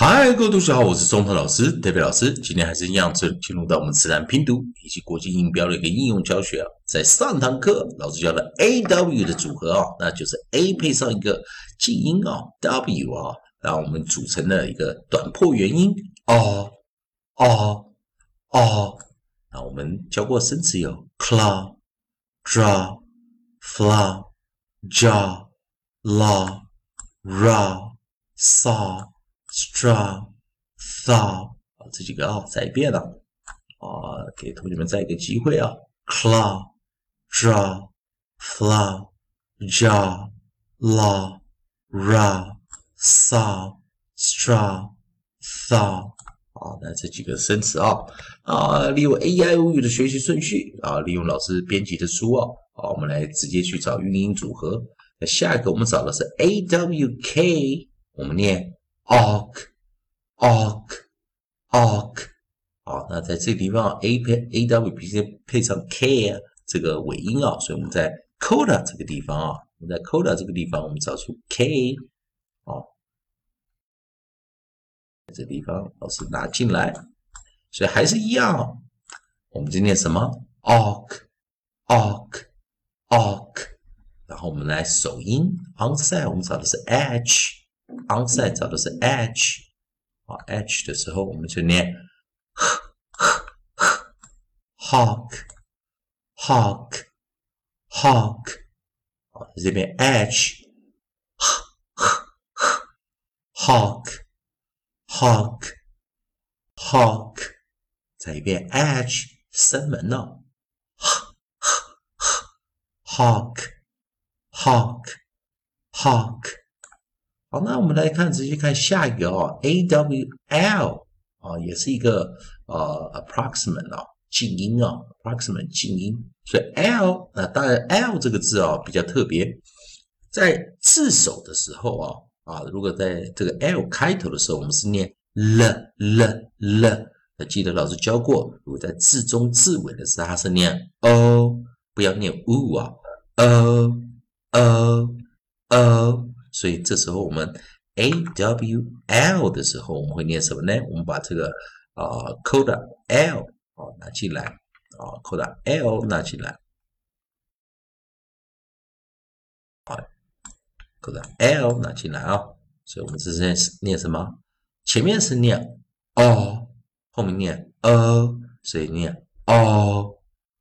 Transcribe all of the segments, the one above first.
嗨，各位同学好，我是中头老师，特别老师。今天还是一样，进入到我们自然拼读以及国际音标的一个应用教学啊。在上堂课，老师教的 AW 的组合啊，那就是 A 配上一个静音啊 W 啊，然后我们组成了一个短破元音哦哦哦。那我们教过生词有 claw、draw、flaw、jaw、law、raw、saw、straw、thaw 这几个再一遍了给同学们再一个机会啊 claw、draw、flaw、jaw、law、raw、saw、straw、thaw 那这几个生词利用 AIOU 的学习顺序利用老师编辑的书我们来直接去找韵音组合。那下一个我们找的是 AWK， 我们念 awk。好，那在这个地方 AW 必须配上 K 这个尾音所以我们在 coda 这个地方我们在 coda 这个地方我们找出 K 这个地方老师拿进来，所以还是一样我们今天什么 awk， 然后我们来首音 onside 我们找的是 H， 找的是 H，H 的时候我们就念hawk， 这边 H hawk， 再一遍 H 声门hawk。好，那我们来直接看下一个AWL 也是一个approximate 静音approximate 静音，所以 L 当然 L 这个字比较特别，在字首的时候如果在这个 L 开头的时候，我们是念 了，记得老师教过，如果在字中字尾的时候，它是念 O， 不要念 U O， 所以这时候我们 AWL 的时候，我们会念什么呢？我们把这个coda L 拿进来coda L 拿进来coda L 拿进来所以我们这是念什么？前面是念 O， 后面念 O， 所以念 O。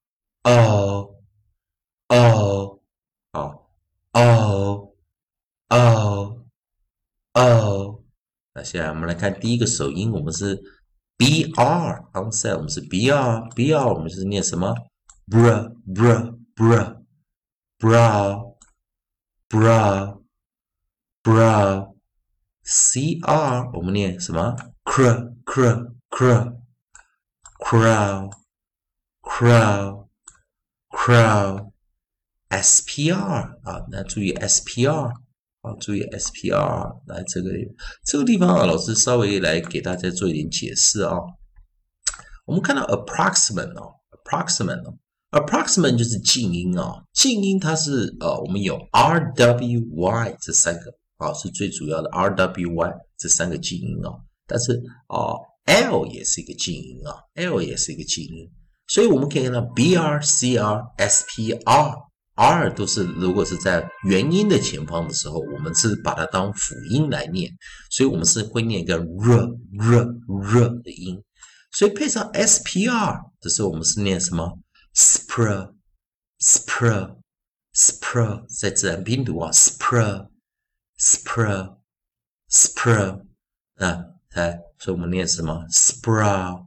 那现在我们来看第一个首音，我们是 BR onside， 我们是 BR， 我们是念什么 brow CR 我们念什么 crow SPR 那注意 SPR注意 SPR 来这个地方老师稍微来给大家做一点解释我们看到 approximate 就是静音静音它是我们有 RWY 这三个是最主要的 RWY 这三个静音但是L 也是一个静音L 也是一个静音，所以我们可以看到 BR、CR、SPR。R 都是如果是在元音的前方的时候，我们是把它当辅音来念，所以我们是会念一个 r 的音，所以配上 SPR 的时候，我们是念什么 spr， 在自然拼读spr， 所以我们念什么 sprout，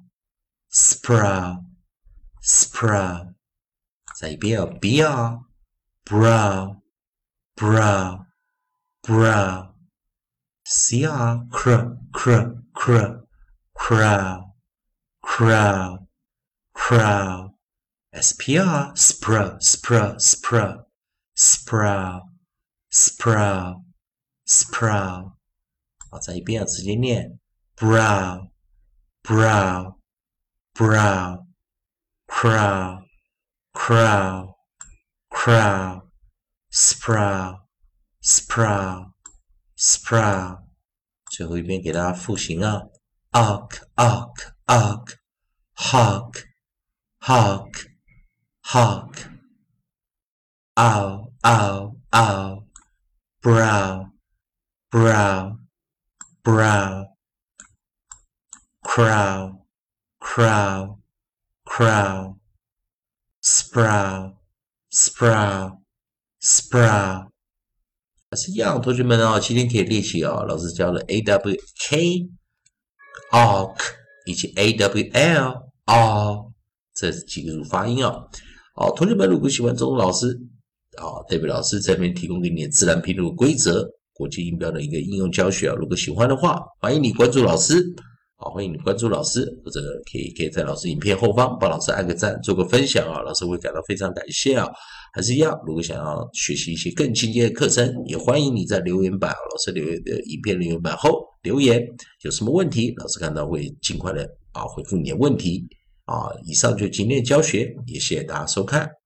再一遍BR brow CR crow SPR sprout 好，再一遍直接念 brow crow sprout 最后一遍给大家复习啊 ，ark ark ark hawk hawk hawk ow ow ow brow brow brow crow crow crow sprout sprout sprout 还是一样，同学们啊，今天可以练习啊，老师教了 awk awk 以及 awl all 这几个发音啊。好，同学们如果喜欢这种老师代表老师这边提供给你的自然拼读规则、国际音标的一个应用教学啊。如果喜欢的话，欢迎你关注老师。好，欢迎你关注老师，或者可以在老师影片后方帮老师按个赞，做个分享啊，老师会感到非常感谢啊。还是一样，如果想要学习一些更进阶的课程，也欢迎你在留言板，老师留言的影片留言板后留言，有什么问题，老师看到会尽快的回复你的问题啊。以上就是今天的教学，也谢谢大家收看。